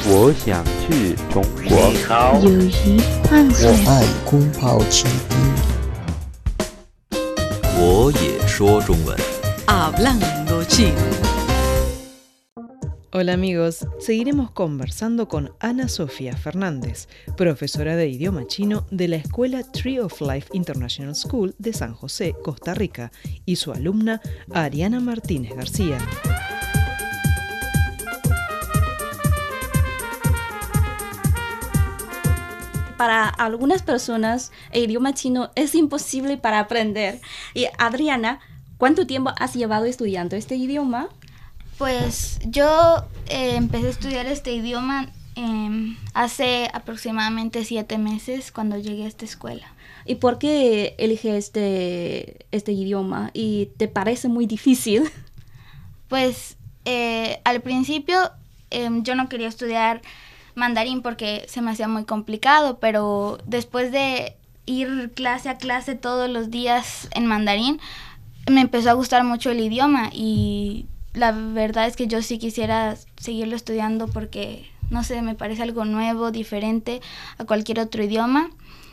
我想去中国。 你好， 友谊换算， 我爱空泡奇兵。 我也说中文。 Hablando chino. Hola amigos, seguiremos conversando con Ana Sofía Fernández, profesora de idioma chino de la Escuela Tree of Life International School de San José, Costa Rica, y su alumna Ariana Martínez García. Para algunas personas el idioma chino es imposible para aprender. Y Adriana, ¿cuánto tiempo has llevado estudiando este idioma? Pues yo empecé a estudiar este idioma hace aproximadamente 7 meses cuando llegué a esta escuela. ¿Y por qué eliges este idioma? ¿Y te parece muy difícil? Pues al principio yo no quería estudiar mandarín porque se me hacía muy complicado, pero después de ir clase a clase todos los días en mandarín, me empezó a gustar mucho el idioma y la verdad es que yo sí quisiera seguirlo estudiando porque, no sé, me parece algo nuevo, diferente a cualquier otro idioma.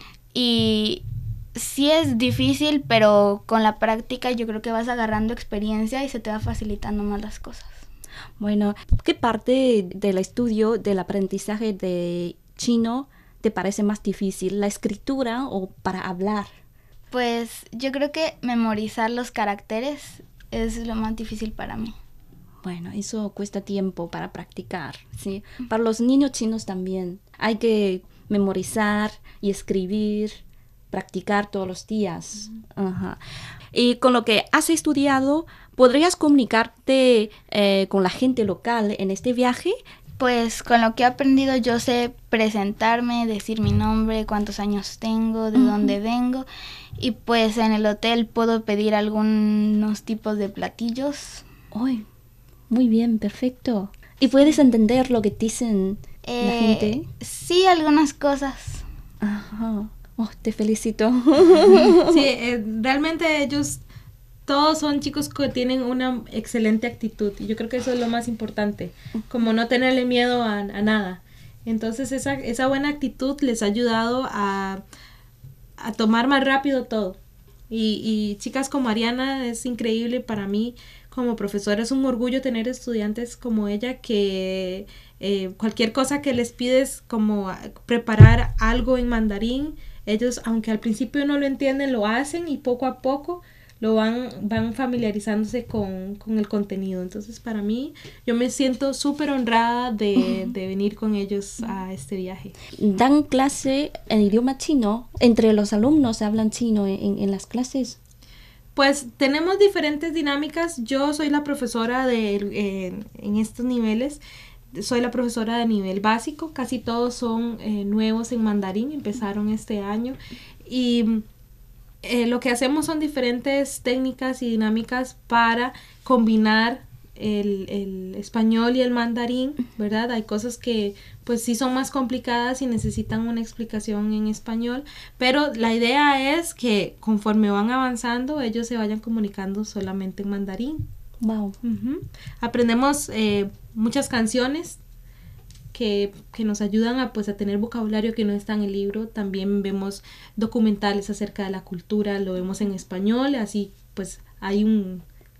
Y sí es difícil, pero con la práctica yo creo que vas agarrando experiencia y se te va facilitando más las cosas. Bueno, ¿qué parte del estudio, del aprendizaje de chino te parece más difícil? ¿La escritura o para hablar? Pues yo creo que memorizar los caracteres es lo más difícil para mí. Bueno, eso cuesta tiempo para practicar, ¿sí? Para los niños chinos también. Hay que memorizar y escribir, practicar todos los días. Ajá. Y con lo que has estudiado, ¿podrías comunicarte con la gente local en este viaje? Pues con lo que he aprendido yo sé presentarme, decir mi nombre, cuántos años tengo, de dónde vengo. Y pues en el hotel puedo pedir algunos tipos de platillos. ¡Ay! Muy bien, perfecto. ¿Y puedes entender lo que dicen la gente? Sí, algunas cosas. Ajá. Oh, te felicito. Sí, realmente ellos todos son chicos que tienen una excelente actitud y yo creo que eso es lo más importante, como no tenerle miedo a nada. Entonces esa buena actitud les ha ayudado a tomar más rápido todo. Y chicas como Ariana es increíble para mí. Como profesora es un orgullo tener estudiantes como ella que cualquier cosa que les pides como preparar algo en mandarín, ellos aunque al principio no lo entienden lo hacen y poco a poco lo van familiarizándose con el contenido. Entonces para mí yo me siento súper honrada de venir con ellos a este viaje. ¿Dan clase en idioma chino? ¿Entre los alumnos hablan chino en las clases? Pues tenemos diferentes dinámicas. Yo soy la profesora en estos niveles. Soy la profesora de nivel básico. Casi todos son nuevos en mandarín. Empezaron este año. Y lo que hacemos son diferentes técnicas y dinámicas para combinar el español y el mandarín, ¿verdad? Hay cosas que pues sí son más complicadas y necesitan una explicación en español, pero la idea es que conforme van avanzando ellos se vayan comunicando solamente en mandarín. Wow. Aprendemos muchas canciones que nos ayudan a tener vocabulario que no está en el libro. También vemos documentales acerca de la cultura, lo vemos en español, así pues hay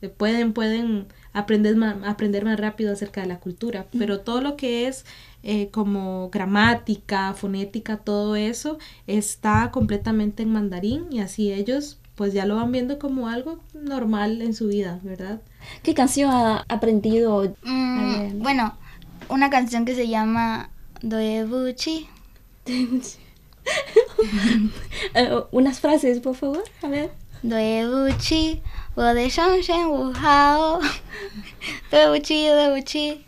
pueden aprender más rápido acerca de la cultura, pero todo lo que es como gramática, fonética, todo eso está completamente en mandarín y así ellos pues ya lo van viendo como algo normal en su vida, ¿verdad? ¿Qué canción ha aprendido? Bueno, una canción que se llama Doebuchi. Unas frases, por favor, a ver. Doebuchi, wo de shanshen wu hao. Doebuchi, doebuchi.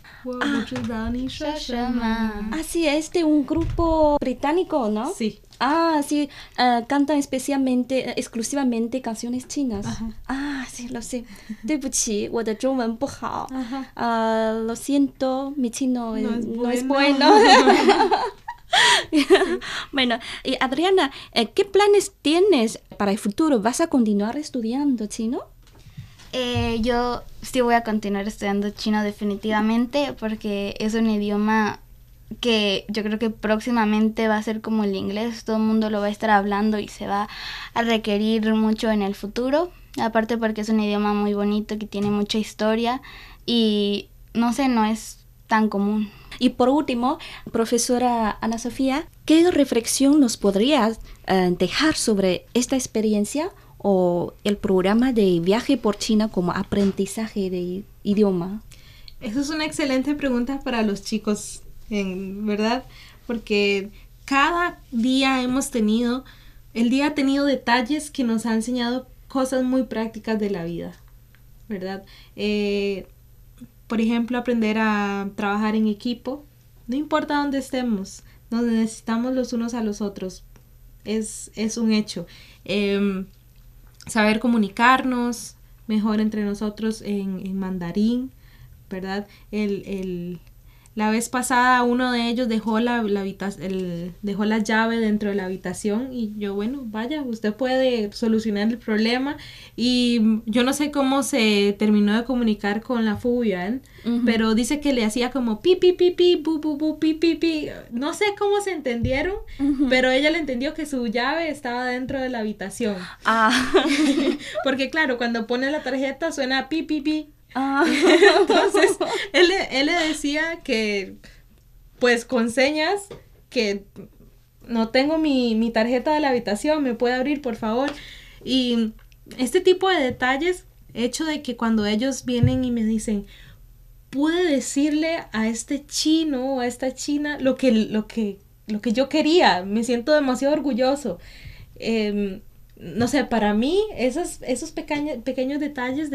Ah, sí, es de un grupo británico, ¿no? Sí. Ah, sí, cantan exclusivamente canciones chinas. Ajá. Ah, sí, lo sé. 对不起，我的中文不好。lo siento, mi chino no es bueno. Bueno, y Adriana, ¿qué planes tienes para el futuro? ¿Vas a continuar estudiando chino? Yo sí voy a continuar estudiando chino definitivamente porque es un idioma que yo creo que próximamente va a ser como el inglés, todo el mundo lo va a estar hablando y se va a requerir mucho en el futuro, aparte porque es un idioma muy bonito que tiene mucha historia y no sé, no es tan común. Y por último, profesora Ana Sofía, ¿qué reflexión nos podrías dejar sobre esta experiencia o el programa de viaje por China como aprendizaje de idioma? Eso es una excelente pregunta para los chicos, ¿verdad? Porque cada día el día ha tenido detalles que nos han enseñado cosas muy prácticas de la vida, ¿verdad? Por ejemplo, aprender a trabajar en equipo. No importa dónde estemos, nos necesitamos los unos a los otros. Es un hecho. Saber comunicarnos mejor entre nosotros en mandarín, ¿verdad? La vez pasada uno de ellos dejó dejó la llave dentro de la habitación y yo, bueno, vaya, usted puede solucionar el problema. Y yo no sé cómo se terminó de comunicar con la Fuyan, pero dice que le hacía como pi, pi, pi, pi, bu, bu, bu, pi, pi, pi. No sé cómo se entendieron, pero ella le entendió que su llave estaba dentro de la habitación. Porque claro, cuando pone la tarjeta suena pi, pi, pi. Entonces él le decía que pues con señas que no tengo mi tarjeta de la habitación, me puede abrir por favor. Y este tipo de detalles, hecho de que cuando ellos vienen y me dicen, pude decirle a este chino o a esta china lo que yo quería, me siento demasiado orgulloso. No sé, para mí esos pequeños detalles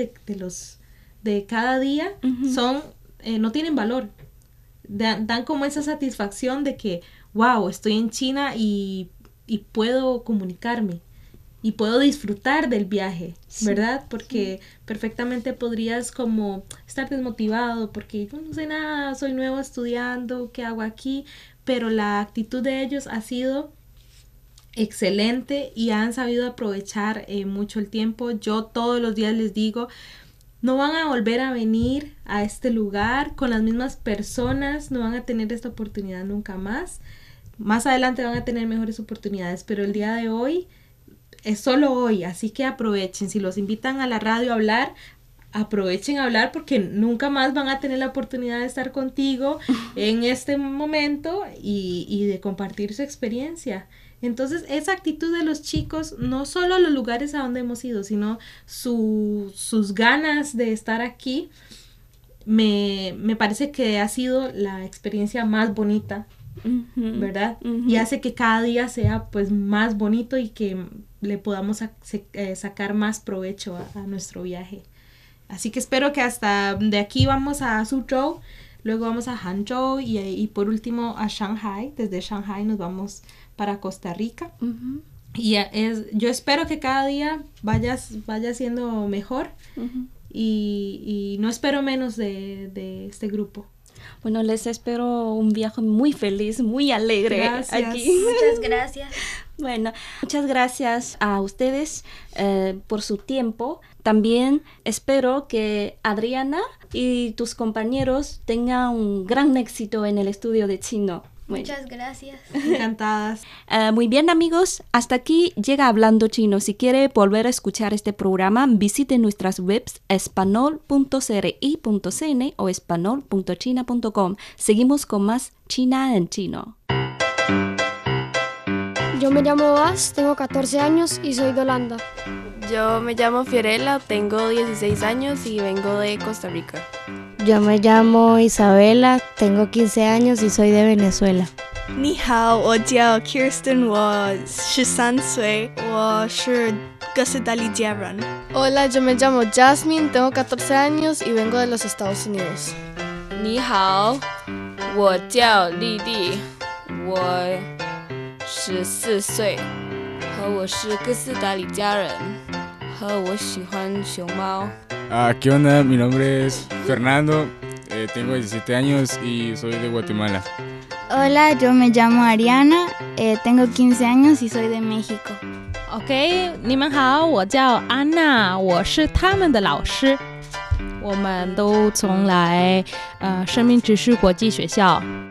de cada día son, no tienen valor. Dan como esa satisfacción de que, wow, estoy en China y puedo comunicarme y puedo disfrutar del viaje, ¿verdad? Porque perfectamente podrías como estar desmotivado porque yo no sé nada, soy nuevo estudiando, ¿qué hago aquí? Pero la actitud de ellos ha sido excelente y han sabido aprovechar mucho el tiempo. Yo todos los días les digo, no van a volver a venir a este lugar con las mismas personas, no van a tener esta oportunidad nunca más. Más adelante van a tener mejores oportunidades, pero el día de hoy es solo hoy, así que aprovechen. Si los invitan a la radio a hablar, aprovechen a hablar porque nunca más van a tener la oportunidad de estar contigo en este momento y de compartir su experiencia. Entonces, esa actitud de los chicos, no solo a los lugares a donde hemos ido, sino sus ganas de estar aquí, me parece que ha sido la experiencia más bonita, ¿verdad? Y hace que cada día sea pues más bonito y que le podamos sacar más provecho a nuestro viaje. Así que espero que hasta de aquí vamos a Suzhou, luego vamos a Hangzhou y por último a Shanghai. Desde Shanghai nos vamos para Costa Rica. Y yo espero que cada día vaya siendo mejor y no espero menos de este grupo. Bueno, les espero un viaje muy feliz, muy alegre. Gracias. Aquí. Muchas gracias. Bueno, muchas gracias a ustedes por su tiempo. También espero que Adriana y tus compañeros tengan un gran éxito en el estudio de chino. Muchas gracias. Encantadas. Muy bien, amigos, hasta aquí llega Hablando Chino. Si quiere volver a escuchar este programa, visite nuestras webs espanol.cri.cn o espanol.china.com. Seguimos con más China en Chino. Yo me llamo Bas, tengo 14 años y soy de Holanda. Yo me llamo Fiorella, tengo 16 años y vengo de Costa Rica. Yo me llamo Isabela, tengo 15 años y soy de Venezuela. 你好，我叫 Kirsten， 我13岁，我是哥斯达黎加人。 Hola, yo me llamo Jasmine, tengo 14 años y vengo de los Estados Unidos. 你好，我叫丽丽，我14岁，和我是哥斯达黎加人，和我喜欢熊猫。 ¿Qué onda? Mi nombre es Fernando, tengo 17 años y soy de Guatemala. Hola, yo me llamo Ariana, tengo 15 años y soy de México. OK， 你们好，我叫安娜，我是他们的老师。我们都从来生命之树国际学校